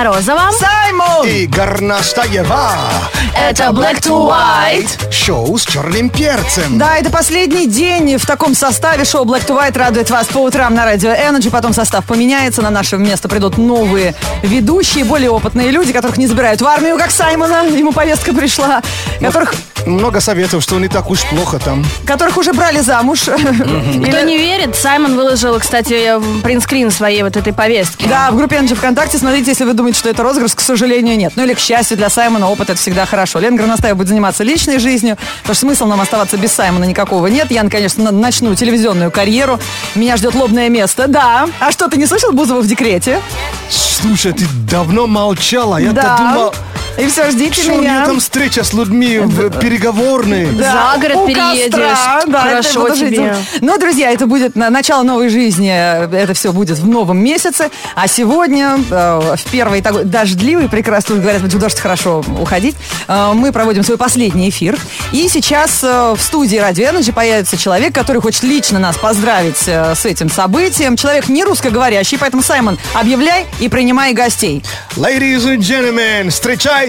Морозова, Саймон и Горностаева. это Black to White. Шоу с черным перцем. Да, это последний день в таком составе. Шоу Black to White радует вас по утрам на радио Energy. Потом состав поменяется, на наше место придут новые ведущие, более опытные люди, которых не забирают в армию, как Саймона. Ему повестка пришла. Много советов, что не так уж плохо там. Которых уже брали замуж. Кто не верит, Саймон выложил, кстати, принтскрин своей вот этой повестки. Да, в группе Energy ВКонтакте. Смотрите, если вы думаете, что это розыгрыш, к сожалению, нет. Ну или, к счастью, для Саймона опыт это всегда хорошо. Лена Горностаева будет заниматься личной жизнью, потому что смысла нам оставаться без Саймона никакого нет. Я, конечно, начну телевизионную карьеру. Меня ждет лобное место. Да. А что, ты не слышал Бузову в декрете? Слушай, ты давно молчала. Я-то думал... И все, ждите Что у меня. нее там встреча с людьми переговорные? За город переедешь. Костра. Да, Хорошо это тебе. жить. Ну, друзья, это будет начало новой жизни. Это все будет в новом месяце. А сегодня, в первый такой дождливый, прекрасно, говорят, в дождь хорошо уходить, мы проводим свой последний эфир. И сейчас в студии Радио Energy появится человек, который хочет лично нас поздравить с этим событием. Человек не русскоговорящий, поэтому, Саймон, объявляй и принимай гостей. Ladies and gentlemen, встречайте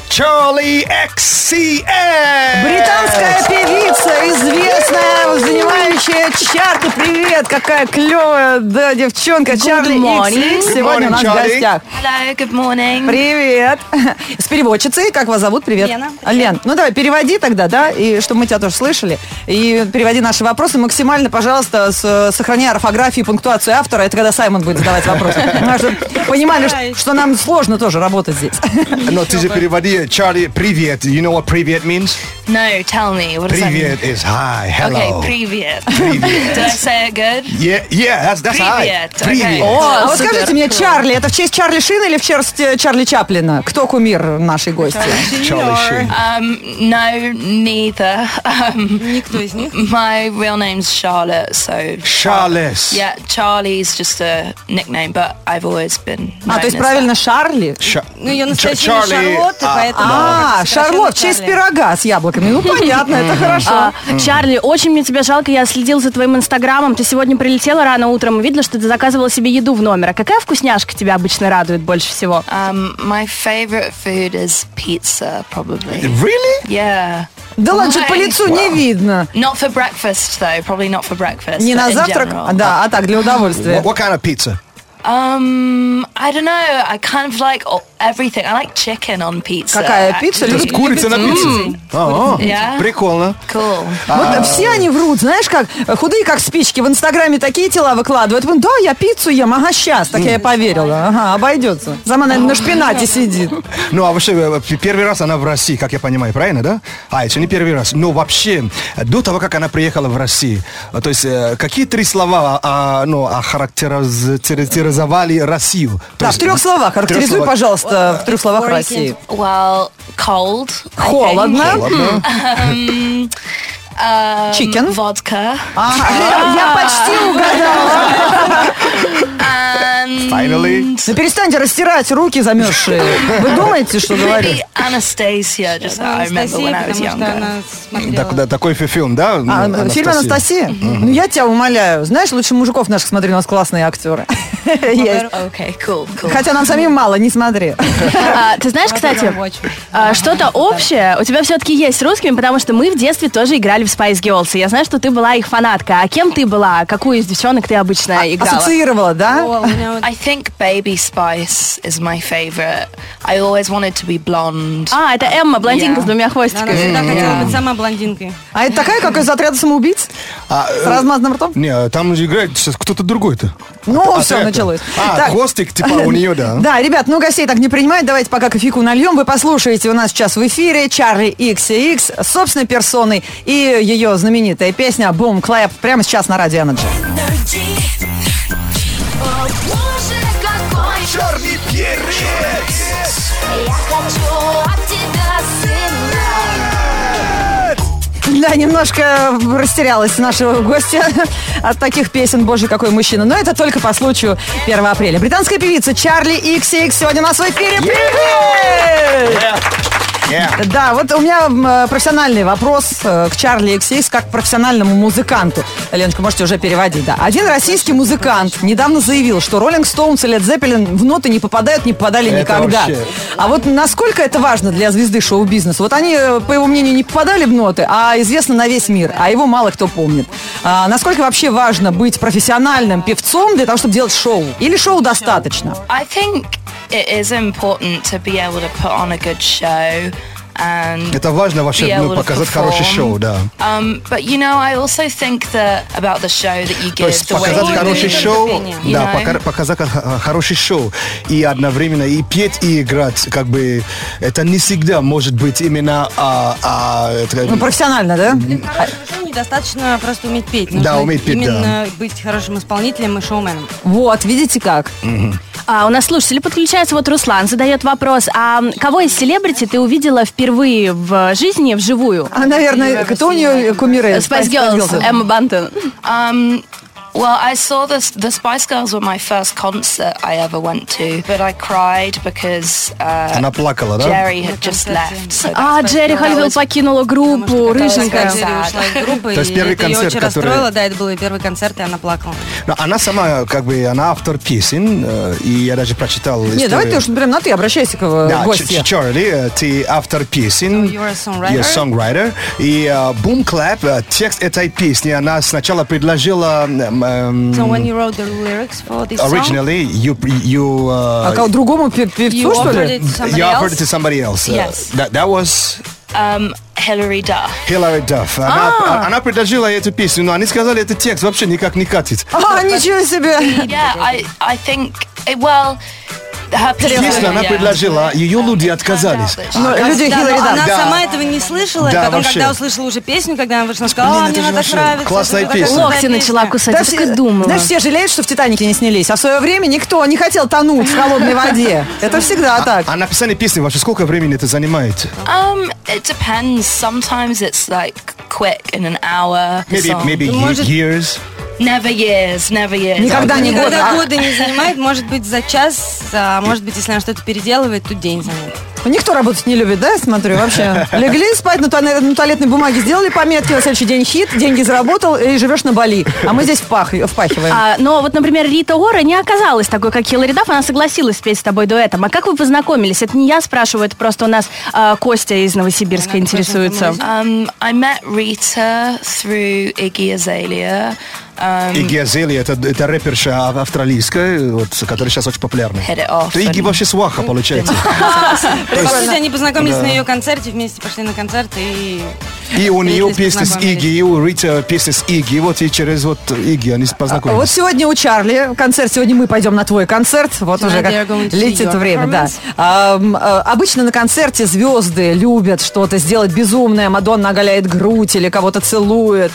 Charli XCX! Британская певица, известная, занимающая чарты. Привет, какая клевая, да, девчонка. Charli XCX сегодня у нас в гостях. Hello, good morning. Привет. С переводчицей, как вас зовут? Привет. Лена. Лен, ну давай, переводи тогда, да, и чтобы мы тебя тоже слышали. И переводи наши вопросы максимально, пожалуйста, сохраняя орфографию и пунктуацию автора. Это когда Саймон будет задавать вопросы. Чтобы понимали, что нам сложно тоже работать здесь. Но ты же переводи, Charli, привет. You know what привет means? No, tell me. What does that mean? Привет is hi, hello. Okay, привет. Привет. Did I say it good? Yeah, that's hi. Привет, Привет. okay. А вот Супер. скажите мне, Чарли, это в честь Чарли Шина или в честь Чарли Чаплина? Кто кумир нашей гости? Charli Sheen. No, neither. Никто из них. My real name's Charlotte, so... Charles. Yeah, Charlie's just a nickname, but I've always been known То есть as правильно Шарли? Ну, ее настоящее Charli, Шарлотта, поэтому... Шарлот, в честь пирога с яблоками. Ну, понятно, это хорошо. Чарли, очень мне тебя жалко, я следила за твоим инстаграмом. Ты сегодня прилетела рано утром и видела, что ты заказывала себе еду в номер. А какая вкусняшка тебя обычно радует больше всего? My favorite food is pizza, probably. Really? Yeah. Да ладно, что по лицу не видно. Not for breakfast, though. Probably not for breakfast. Не but на in завтрак, general. да, а так, для удовольствия. What kind of pizza? I don't know. I kind of like everything. I like chicken on pizza. Какая пицца? То есть курица на пицце? Yeah. Прикольно. Cool. Вот все они врут, знаешь как, худые как спички, в Инстаграме такие тела выкладывают. Да, я пиццу ем, ага, сейчас, так я и поверила, ага, обойдется. Сама, наверное, на шпинате сидит. Ну, а вообще, первый раз она в России, как я понимаю, правильно, да? Это не первый раз. Но вообще, до того, как она приехала в Россию, то есть, какие три слова, охарактеризовали Россию? Да, в 3 словах, характеризуй, пожалуйста, в 3 словах России. Well, cold. I think. Холодно. Chicken. Vodka. Я почти угадала. And Finally. Ну перестаньте растирать руки замерзшие. Вы думаете, что говорю? maybe Anastasia, just that I remember when I was потому что younger. она смотрела. Такой фильм, да? Фильм «Анастасия»? Ну, я тебя умоляю. Знаешь, лучше мужиков наших смотри, у нас классные актеры. Есть. Okay, cool. Хотя нам самим мало, не смотри. Ты знаешь, кстати, что-то общее у тебя все-таки есть с русскими, потому что мы в детстве тоже играли в Spice Girls. И я знаю, что ты была их фанатка. А кем ты была? Какую из девчонок ты обычно играла? Ассоциировала, да? О, у меня вот I think Baby Spice is my favorite. I always wanted to be blonde. Это Эмма, блондинка Yeah. с 2 она хвостиками. всегда хотела быть сама блондинкой. А это такая, как из отряда самоубийц? С размазанным ртом? Не, там же играет сейчас кто-то другой-то. Ну, все, началось. Так, Хвостик, типа у нее, да. да, ребят, гостей так не принимают. Давайте пока кофейку нальем. Вы послушаете у нас сейчас в эфире Charli XCX собственной персоной и ее знаменитая песня «Boom Clap» прямо сейчас на Радио Energy. Черный перец! Я хочу от тебя сына. Да, немножко растерялась нашего гостя от таких песен «Боже, какой мужчина». Но это только по случаю 1 апреля. Британская певица Charli XCX сегодня у нас в эфире. Привет! Yeah. Да, вот у меня профессиональный вопрос к Чарли XX как к профессиональному музыканту. Леночка, можете уже переводить, да. Один российский музыкант недавно заявил, что Роллинг Стоунс и Лед Зеппелин в ноты не попадают, не попадали Это никогда. вообще... А вот насколько это важно для звезды шоу-бизнеса? Вот они, по его мнению, не попадали в ноты, а известно на весь мир, а его мало кто помнит. Насколько вообще важно быть профессиональным певцом для того, чтобы делать шоу? Или шоу достаточно? I think it is important to be able to put on a good show. And Это важно вообще be able to показать perform. хорошее шоу, да. But you know, I also think that about the show that you То give, есть the way показать you хорошее do it, шоу, you да, know? показать хорошее шоу и одновременно и петь, и играть, как бы это не всегда может быть именно Ну, профессионально, да? Хорошо, недостаточно просто уметь петь. Да, Нужно уметь петь, именно быть хорошим исполнителем и шоуменом. Вот, видите как? У нас слушатели подключаются. Вот Руслан задает вопрос. А кого из селебрити ты увидела впервые в жизни вживую? Наверное, кто у нее кумиры? Spice Girls, Эмма Бантон. Well, I saw the Spice Girls were my first concert I ever went to, but I cried because Она плакала, да? Jerry had just left. So that's Джерри Холливилл покинула группу, рыженькая. Когда ушла из группы, То есть и первый это ее концерт, очень который- расстроило. Да, это был ее первый концерт, и она плакала. Но она сама, как бы, она автор песен, и я даже прочитал Нет, историю. давай ты уж прям на ты обращайся к Да, гостю. Чарли, ты автор песен. So you're a songwriter? You're a songwriter. И Boom Clap, текст этой песни, она сначала предложила... So when you wrote the lyrics for this song, Originally, you А кого, другому певцу, you что offered ли? it to somebody you offered else? it to somebody else. Yes. That was Hilary Duff. Hillary Duff. Она предложила эту песню, но они сказали, этот текст вообще никак не катит. Ничего себе! Yeah, I think well, her Песню она yeah. предложила, ее люди отказались. Но люди Да, Хиллари но Дафф. она Да. сама этого не слышала, и Да, потом, вообще. когда услышала уже песню, когда она вышла, она сказала, Блин, мне это же она так вообще нравится. классная это такая песня. крутая Локти начала песня». кусать, Да я так и все, думала. знаешь, все жалеют, что в «Титанике» не снялись, а в свое время никто не хотел тонуть в холодной воде. Это всегда так. А написание песни вообще сколько времени это занимает? It depends. Sometimes it's like quick in an hour. the song. Maybe может- years. Never years. Никогда не год. Никогда года не занимает, может быть, за час, а может быть, если она что-то переделывает, то день займет. Никто работать не любит, да, я смотрю, вообще. Легли спать на туалетной бумаге, сделали пометки, на следующий день хит, деньги заработал и живешь на Бали. А мы здесь впахиваем. Но вот, например, Рита Ора не оказалась такой, как Хиллари Дафф, она согласилась спеть с тобой дуэтом. А как вы познакомились? Это не я спрашиваю, это просто у нас Костя из Новосибирска интересуется. I met Rita through Iggy Azalea. Игги Азалия, это рэперша австралийская, вот, которая сейчас очень популярна. Hit it off. То Игги вообще сваха, получается. По сути, они познакомились на ее концерте, вместе пошли на концерт и... И у нее встретились, песня с познакомились. Игги, и у Рита песня с Игги, вот и через вот Игги они Вот познакомились. сегодня у Чарли концерт, сегодня мы пойдем на твой концерт, вот So уже now как they are going to see летит your время, да. performance? Обычно на концерте звезды любят что-то сделать безумное, Мадонна оголяет грудь или кого-то целует,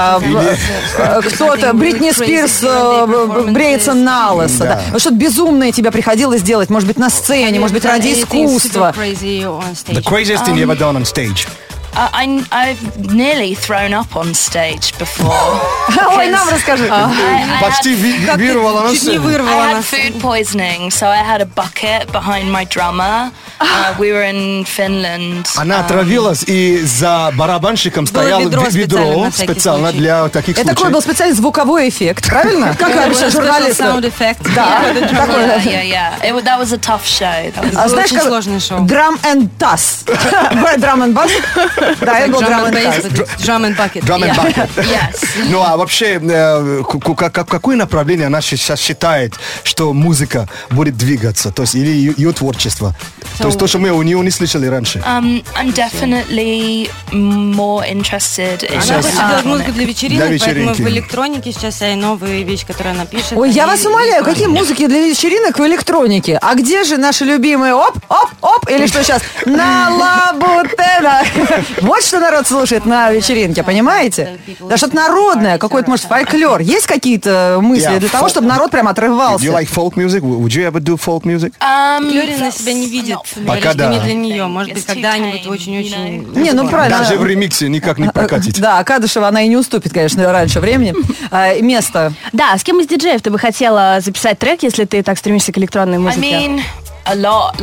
кто-то, Бритни Спирс бреется на лысо, да. Вот что-то безумное тебе приходилось делать, может быть, на сцене, может быть, ради искусства. The craziest thing you ever done on stage? I've nearly thrown up on stage before. Ой, нам расскажи. Почти вирувала на Чуть не сцену. вырвала I had нас. food poisoning, so I had a bucket behind my drummer. We were in Finland. Она отравилась, и за барабанщиком стояло ведро специально, на всякий специально случай. для таких Это такой случаев. был специальный звуковой эффект, правильно? Как обычно журналисты. Sound effect. Да, такой. Yeah. That was a tough show. That was А было знаешь, очень как сложное шоу. Drum and Bass. Drum and Bass? Да, это был Drum and Bass. Drum and bucket. Drum and bucket. yes. Ну а вообще, какое направление она сейчас считает, что музыка будет двигаться? То есть, или ее творчество? То есть, то, что мы у нее не слышали раньше. I'm definitely more interested in Она хочет делать музыку для Для вечеринок, поэтому вечеринки. в электронике сейчас вся новые вещи, которые она пишет. Ой, я они вас умоляю, какие музыки для вечеринок в электронике? А где же наши любимые оп, или что сейчас? На лабутена. Вот что народ слушает на вечеринке, понимаете? Да что-то народное, какой-то, может, фольклор. Есть какие-то мысли для того, чтобы народ прям Do you отрывался? like folk music? Would you ever do folk music? Флёрина себя не видит. Пока Говорит, что да. не для нее. Может быть, когда-нибудь очень-очень... Не, ну правильно. Даже в ремиксе никак не прокатить. Да, Кадышева, она и не уступит, конечно, раньше времени. Место. Да, с кем из диджеев ты бы хотела записать трек, если ты так стремишься к электронной I музыке? mean, a lot. Like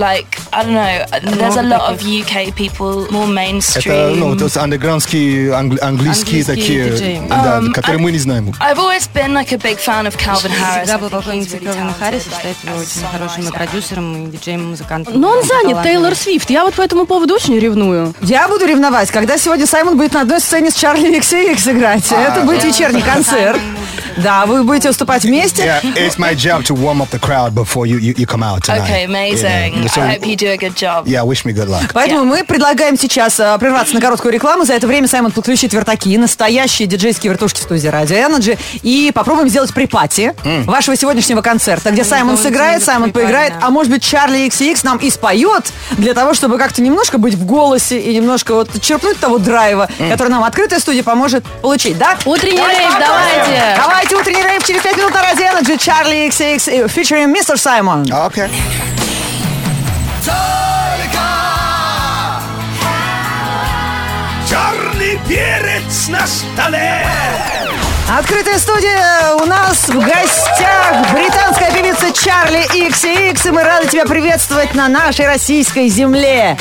I don't know. There's a lot of UK people, more mainstream. Это, то есть андеграундские, английские такие, диджеи. да, которые мы не знаем. I've always been like a big fan of Calvin Harris. Всегда был поклонницей Калвина Харриса, считает его очень хорошим и продюсером, и диджеем, и музыкантом. Но он занят, Тейлор Свифт. Я вот по этому поводу очень ревную. Я буду ревновать, когда сегодня Саймон будет на одной сцене с Чарли XCX играть. Это будет вечерний концерт. Да, вы будете выступать вместе. Yeah, it's my job to warm up the crowd before you come out tonight. Okay, amazing. Yeah. So, I hope you do a good job. yeah, wish me good luck. Поэтому мы предлагаем сейчас прерваться на короткую рекламу. За это время Саймон подключит вертаки, настоящие диджейские вертушки в студии Radio Energy. И попробуем сделать припати вашего сегодняшнего концерта, где Саймон сыграет, Саймон поиграет, а может быть Чарли XCX нам и споет, для того, чтобы как-то немножко быть в голосе и немножко вот черпнуть того драйва, который нам открытая студия поможет получить, да? Утренний рейв, давайте! Давайте утренний рейв через 5 минут на Radio Energy. Чарли XCX featuring Mr. Simon. Okay. Черный перец на столе. Открытая студия, у нас в гостях британская певица Чарли XCX, и мы рады тебя приветствовать на нашей российской земле.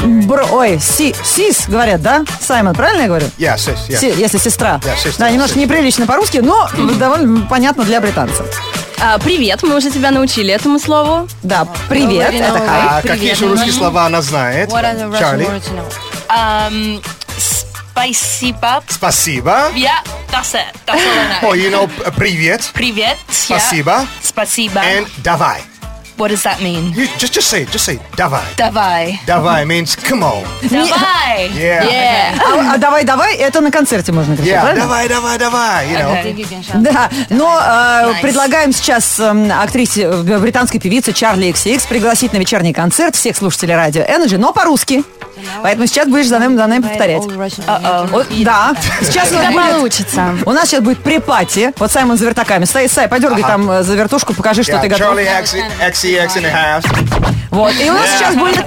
Сис, говорят, да? Саймон, правильно я говорю? Yeah, sis, yeah. Если сестра. Yeah, sister, да, немножко sister. неприлично по-русски, но довольно понятно для британцев. Привет, мы уже тебя научили этому слову. Да, привет, это хай. А какие еще русские слова она знает? What are the Russian Чарли? words you know? Spasiba. Спасибо. Yeah, that's it. That's all I know. Oh, you know, привет. Привет. Спасибо. Yeah. Spasiba. And давай. What does that mean? You just say it. Давай. Давай. Давай means come on. Давай. Yeah. А давай, это на концерте можно кричать, Yeah, правильно? давай, you know. Okay. Да, но предлагаем сейчас актрисе, британской певице Чарли XCX пригласить на вечерний концерт всех слушателей радио Energy, но по-русски. Поэтому сейчас будешь за нами повторять. Да, сейчас Как получится. у нас сейчас будет припати. Вот Саймон за вертаками стоит. Сай, подергай там за вертушку, покажи, что ты готов. Charlie XCX in the house. Вот, и у нас сейчас будет...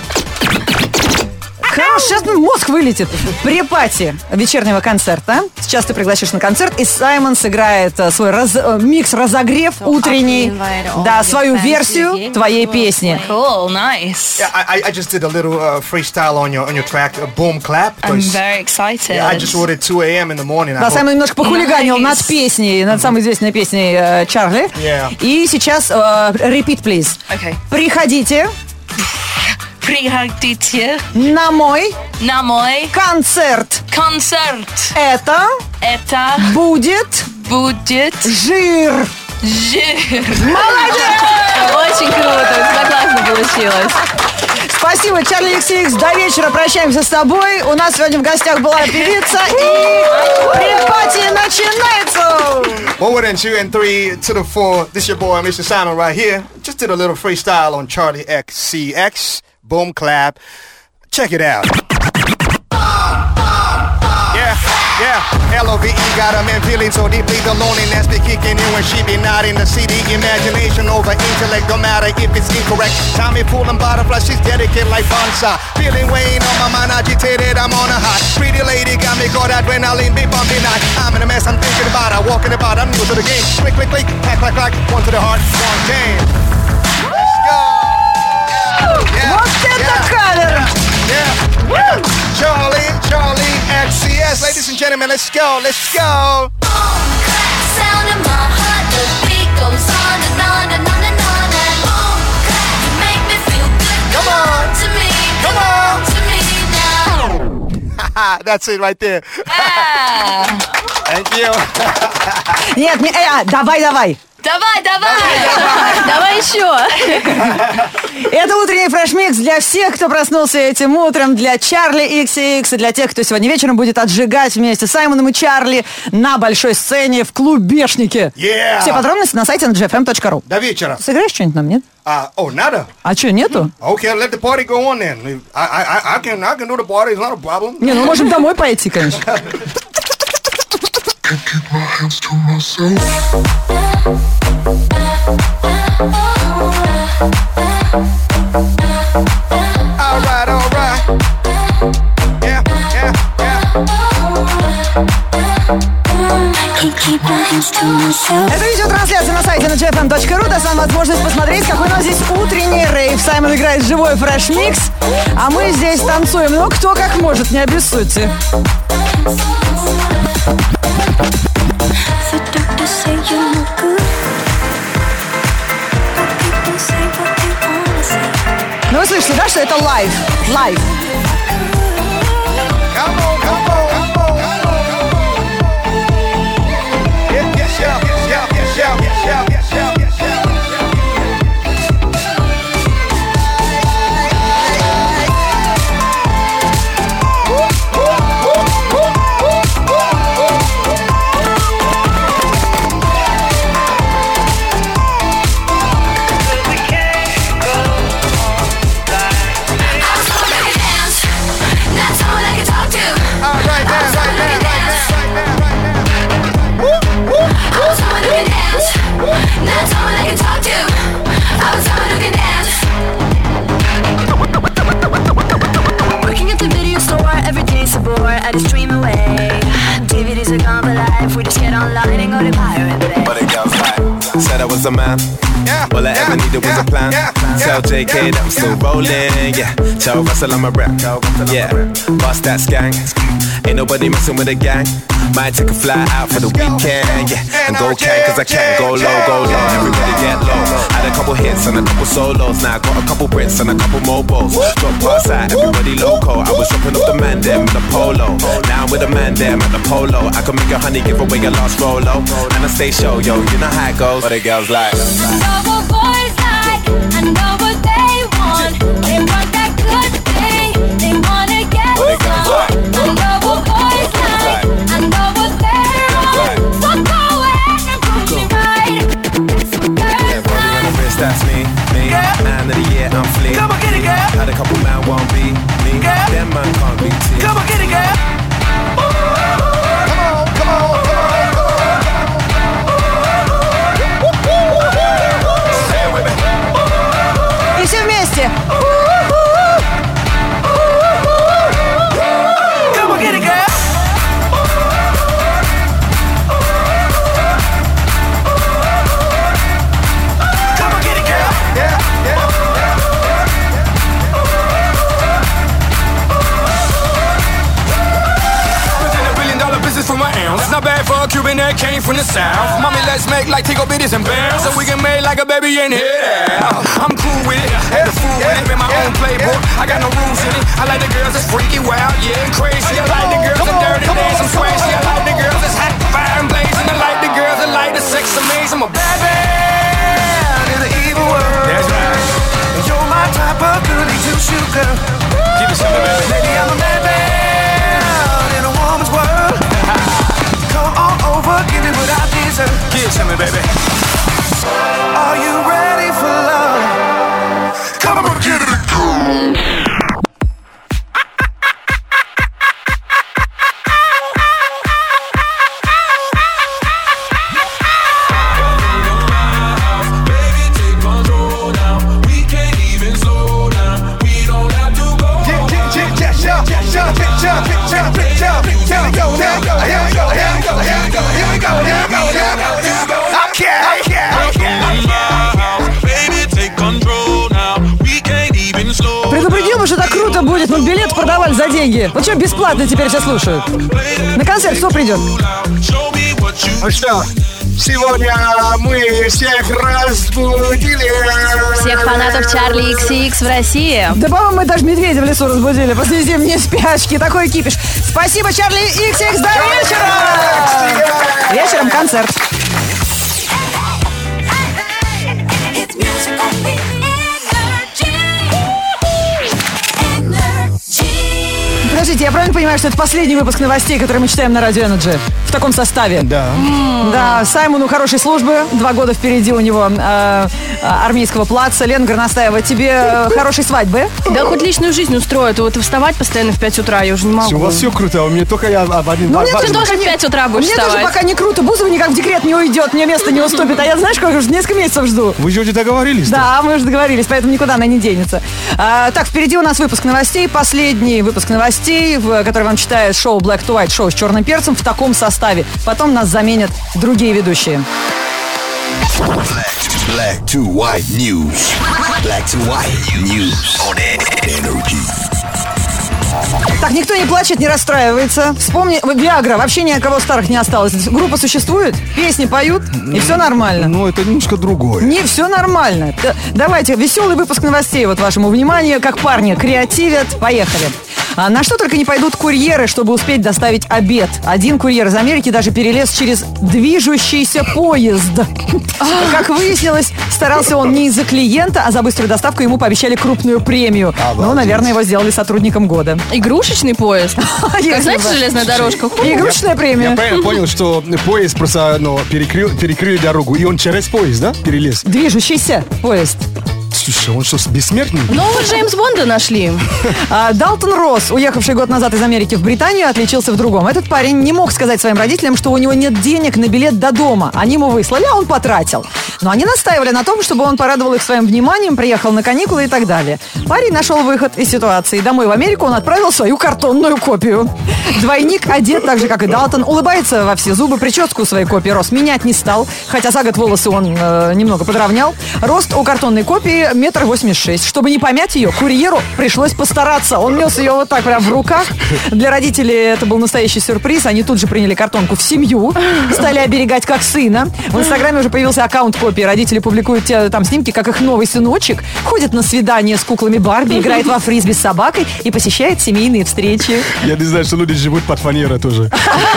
Хорош, сейчас мозг вылетит. Припати вечернего концерта. Сейчас ты пригласишь на концерт, и Саймон сыграет свой микс-разогрев утренний. Да, свою версию твоей песни. Cool. Nice. Yeah, I just did a little freestyle on your track, Boom Clap. I'm very excited. I just wrote it 2 a.m. in the morning. Да, Саймон немножко похулиганил над песней, над самой известной песней Чарли. Yeah. И сейчас repeat, please. Okay. Приходите Приходите на мой на мой концерт. концерт. Это будет будет жир. жир. Очень круто, у тебя классно получилось. Спасибо, Чарли XCX. До вечера прощаемся с тобой. У нас сегодня в гостях была певица, и припати начинается. 1 and 2 and 3 to the 4. This your boy, Mr. Simon, right here. Just did a little freestyle on Charlie XCX. Boom Clap. Check it out. Yeah, LOVE got a man feeling so deeply the loneliness be kicking in when she be not in the city. Imagination over intellect, don't matter if it's incorrect. Tommy fooling butterfly, she's dedicated like bonsai. Feeling weighing on my mind, agitated, I'm on a hot. Pretty lady got me caught adrenaline, be bumping night. I'm in a mess, I'm thinking about, I walking about, I'm new to the game. Click, click, click, clack, clack, clack, one to the heart, one game. Let's go! Yeah, Вот это кавер! yeah. Charlie XCX, ladies and gentlemen, let's go. Sound in my heart, the beat goes on and on and on and on and boom, clap, you make me feel good. Come on to me, come on to me now. That's it right there. Thank you. Нет, давай. Давай еще. Это утренний фреш-микс для всех, кто проснулся этим утром, для Чарли XCX и для тех, кто сегодня вечером будет отжигать вместе с Саймоном и Чарли на большой сцене в клубешнике. Yeah. Все подробности на сайте ngfm.ru. До вечера. Сыграешь что-нибудь нам, нет? Надо. А что, нету? Okay, let the party go on then. I can do the party, it's not a problem. Не, ну можем домой пойти, конечно. All right. Yeah. Keep my hands to myself. Это видеотрансляция на сайте ngfm.ru. radio.rn.ru даст вам возможность посмотреть, какой у нас здесь утренний рейв. Саймон играет живой фреш-микс, а мы здесь танцуем. Ну, кто как может, не обессудьте. Ну, вы слышите, да, что это лайв? Лайв. I just dream away. DVDs are gone for life. We just get online and go to Pirate Bay. But it goes like, said I was a man. All I ever needed was a plan. Tell JK that I'm still rolling. Yeah, tell Russell I'm a rap. Yeah, bust that skank. Ain't nobody messing with a gang. Might take a fly out for the weekend. Yeah, and go can cause I can. Go low, go low. Everybody get low. Had a couple hits and a couple solos. Now I got a couple Brits and a couple mobiles. Drop past out, everybody loco. I was dropping off the man them in the polo. Now I'm with the man them at the polo. I can make a honey give away your last Rolo. And I stay show, yo, you know how it goes. But the girls like, I know what boys like, I know what they want. They want that good thing, they wanna get some. I know what boys like, I know what they're on. So go ahead and prove me right. yeah, body on the wrist, that's me. Man of the year, I'm fleet. Come on, get it, girl. Had a couple man won't be me. Them man can't be tea. Come on, get it, girl. Come on. И все вместе. Come on, get it, girl. Come on, get it, girl. Yeah. From my ounce. Not bad for a Cuban that came from the south. Mommy, let's make like Tico Bitties and bounce, so we can make like a baby in here. I'm cool with it, had the fool with it, in my own playbook. I got no rules in it. I like the girls that's freaky, wild, yeah, and crazy. I like the girls that dirty, dance, I'm swashy. I like the girls that's hot, fire and blazing. I like the girls that like the sex amazing. I'm a bad man in the evil world. That's right. You're my type of goodie to shoot, girl. Give me something, baby. Lady, I'm a bad man in a woman's world. Come on over, give me what I deserve. Give it to me, baby. Are you ready for love? Come on, get it. Предупредил бы, что так круто будет, но билет продавали за деньги. Вот что, бесплатно теперь все слушают. На концерт кто придет? Ну что, сегодня мы всех разбудили. Всех фанатов Чарли XX в России. Да, по-моему, мы даже медведя в лесу разбудили после зимней спячки. Такой кипиш. Спасибо, Чарли XX. До вечера! Вечером концерт. Подождите, я правильно понимаю, что это последний выпуск новостей, которые мы читаем на Радио Energy? В таком составе? Да. Да, Саймону хорошей службы. 2 года впереди у него армейского плаца. Лена Горностаева, тебе хорошей свадьбы? Да хоть личную жизнь устроит. Вот вставать постоянно в 5 утра я уже не могу. У вас все круто, а у меня только я об один. Ну, мне Ты тоже в 5 утра будешь Мне вставать. тоже пока не круто. Бузова никак в декрет не уйдет, мне место не уступит. А я, знаешь, как уже несколько месяцев жду. Вы же уже договорились? Да, мы уже договорились, поэтому никуда она не денется. Так, впереди у нас выпуск новостей. Последний выпуск новостей, который вам читает шоу Black to White, шоу с черным перцем в таком составе. Потом нас заменят другие ведущие. Black to white news. Black to white news on Energy. Так, никто не плачет, не расстраивается. Вспомни, Виагра, вообще ни от кого старых не осталось. Группа существует, песни поют, и все нормально. Ну, это немножко другое. Не, все нормально. Давайте, веселый выпуск новостей вот вашему вниманию. Как парни креативят. Поехали. На что только не пойдут курьеры, чтобы успеть доставить обед. Один курьер из Америки даже перелез через движущийся поезд. Как выяснилось, старался он не из-за клиента, а за быструю доставку ему пообещали крупную премию. Ну, наверное, его сделали сотрудником года. Игрушечный поезд? Как, знаете, железная дорожка? Игрушечная премия. Я правильно понял, что поезд просто перекрыли дорогу, и он через поезд, да, перелез? Движущийся поезд. Слушай, он что, бессмертный? Нового Джеймс Бонда нашли. Далтон Росс, уехавший год назад из Америки в Британию, отличился в другом. Этот парень не мог сказать своим родителям, что у него нет денег на билет до дома. Они ему выслали, а он потратил. Но они настаивали на том, чтобы он порадовал их своим вниманием, приехал на каникулы и так далее. Парень нашел выход из ситуации. Домой в Америку он отправил свою картонную копию. Двойник одет так же, как и Далтон, улыбается во все зубы, прическу своей копии Росс менять не стал, хотя за год волосы он немного подровнял. Рост у картонной копии 1,86 м. Чтобы не помять ее, курьеру пришлось постараться. Он нес ее вот так прям в руках. Для родителей это был настоящий сюрприз. Они тут же приняли картонку в семью, стали оберегать как сына. В Инстаграме уже появился аккаунт копии. Родители публикуют там снимки, как их новый сыночек ходит на свидание с куклами Барби, играет во фрисби с собакой и посещает семейные встречи. Я не знаю, что люди живут под фанерой тоже.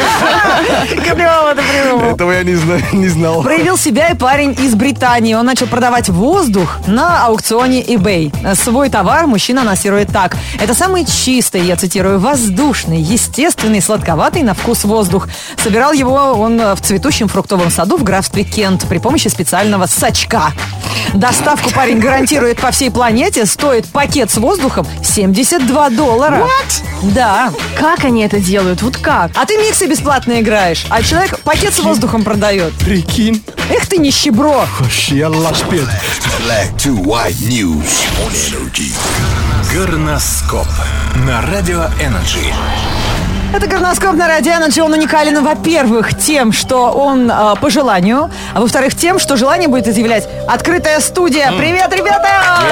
Этого я не знал. Проявил себя и парень из Британии. Он начал продавать воздух на аукционе eBay. Свой товар мужчина анонсирует так. Это самый чистый, я цитирую, воздушный, естественный, сладковатый на вкус воздух. Собирал его он в цветущем фруктовом саду в графстве Кент при помощи специального сачка. Доставку парень гарантирует по всей планете. Стоит пакет с воздухом $72. What? Да. Как они это делают? Вот как? А ты миксы бесплатно играешь, а человек пакет с воздухом продает. Прикинь. Эх ты нищебро. Я лашпед. Black to white news on Energy. Горноскоп на Радио Energy. Это горноскоп на Радио Energy. Он уникален, во-первых, тем, что он по желанию, а во-вторых, тем, что желание будет изъявлять открытая студия. Привет, ребята!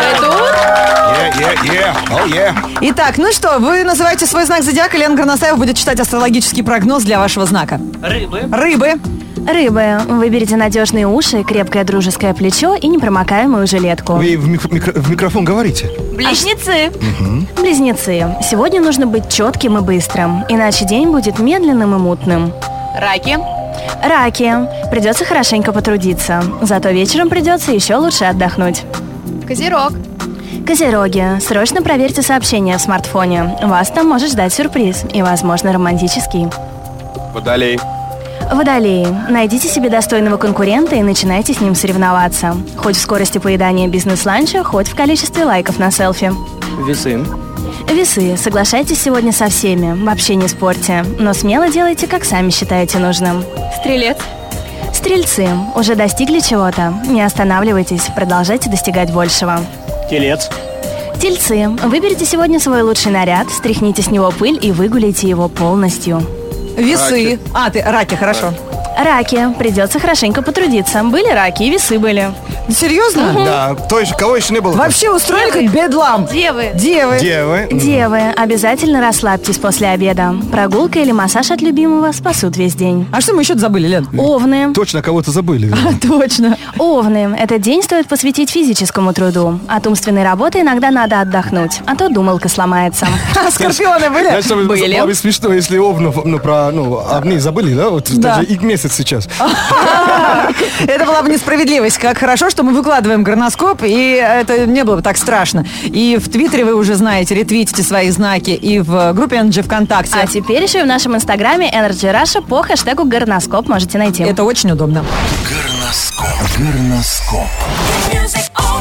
Итак, ну что, вы называете свой знак зодиака, Лена Горностаева будет читать астрологический прогноз для вашего знака. Рыбы. Рыбы. Выберите надежные уши, крепкое дружеское плечо и непромокаемую жилетку. Вы в микрофон говорите? Близнецы. Близнецы. Сегодня нужно быть четким и быстрым, иначе день будет медленным и мутным. Раки. Раки. Придется хорошенько потрудиться, зато вечером придется еще лучше отдохнуть. Козерог. Козероги. Срочно проверьте сообщения в смартфоне. Вас там может ждать сюрприз и, возможно, романтический. Водолей. Водолеи. Найдите себе достойного конкурента и начинайте с ним соревноваться. Хоть в скорости поедания бизнес-ланча, хоть в количестве лайков на селфи. Весы. Весы. Соглашайтесь сегодня со всеми, вообще не спорьте, но смело делайте, как сами считаете нужным. Стрелец. Стрельцы. Уже достигли чего-то? Не останавливайтесь, продолжайте достигать большего. Телец. Тельцы. Выберите сегодня свой лучший наряд, стряхните с него пыль и выгуляйте его полностью. Весы. Раки, хорошо. Раки. Придется хорошенько потрудиться. Были раки и весы были. Серьезно? Да. Кого еще не было? Вообще устроили как бедлам. Девы. Девы. Обязательно расслабьтесь после обеда. Прогулка или массаж от любимого спасут весь день. А что мы еще забыли, Лен? Овны. Точно кого-то забыли. Точно. Овны. Этот день стоит посвятить физическому труду. От умственной работы иногда надо отдохнуть, а то думалка сломается. Скорпионы были? Было бы смешно, если овнов овны забыли, да? Вот даже их месяц сейчас. Это была бы несправедливость. Как хорошо, что мы выкладываем горноскоп, и это не было бы так страшно. И в Твиттере вы уже знаете, ретвитите свои знаки, и в группе Energy ВКонтакте. А теперь еще и в нашем инстаграме Energy Russia по хэштегу горноскоп можете найти. Это очень удобно. Горноскоп. Это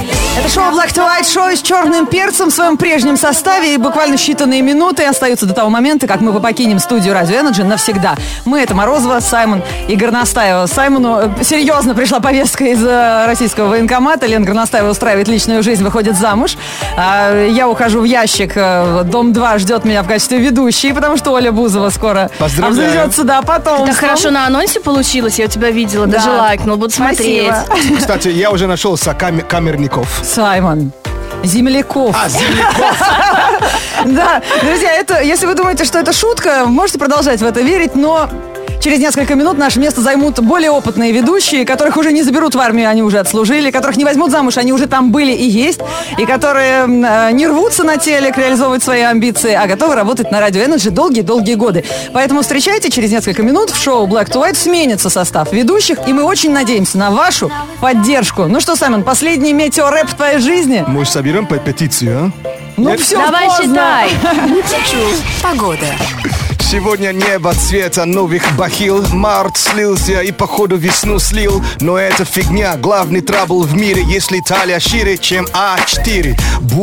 Это шоу Black to White, шоу с черным перцем в своем прежнем составе. И буквально считанные минуты остаются до того момента, как мы покинем студию Радио Energy навсегда. Мы — это Морозова, Саймон и Горностаева. Саймону серьезно пришла повестка из российского военкомата. Лена Горностаева устраивает личную жизнь, выходит замуж. Я ухожу в ящик. Дом 2 ждет меня в качестве ведущей, потому что Оля Бузова скоро обзаведется, да, потом. Так хорошо на анонсе получилось, я у тебя видела, даже лайкнул, буду смотреть. Кстати, я уже нашел камерников. Саймон. Земляков. Земляков. Да, друзья, если вы думаете, что это шутка, можете продолжать в это верить, но через несколько минут наше место займут более опытные ведущие, которых уже не заберут в армию, они уже отслужили, которых не возьмут замуж, они уже там были и есть, и которые не рвутся на телек реализовывать свои амбиции, а готовы работать на Радио Energy долгие-долгие годы. Поэтому встречайте, через несколько минут в шоу Black to White сменится состав ведущих, и мы очень надеемся на вашу поддержку. Ну что, Саймон, последний метеорэп в твоей жизни? Мы соберем петицию, а? Ну все, давай считай. Погода. Сегодня небо цвета новых бахил. Март слился и походу весну слил. Но это фигня, главный трабл в мире, если талия шире, чем А4.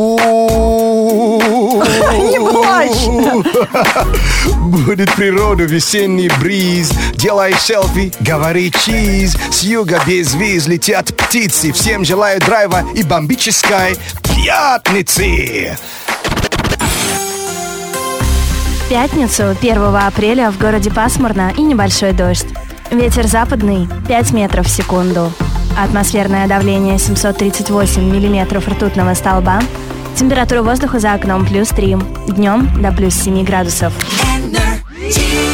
Не плачь. Будет природа, весенний бриз. Делай селфи, говори чиз. С юга без виз летят птицы. Всем желаю драйва и бомбической пятницы. В пятницу, 1 апреля, в городе пасмурно и небольшой дождь. Ветер западный 5 метров в секунду. Атмосферное давление 738 миллиметров ртутного столба. Температура воздуха за окном +3. Днем до +7 градусов. Energy.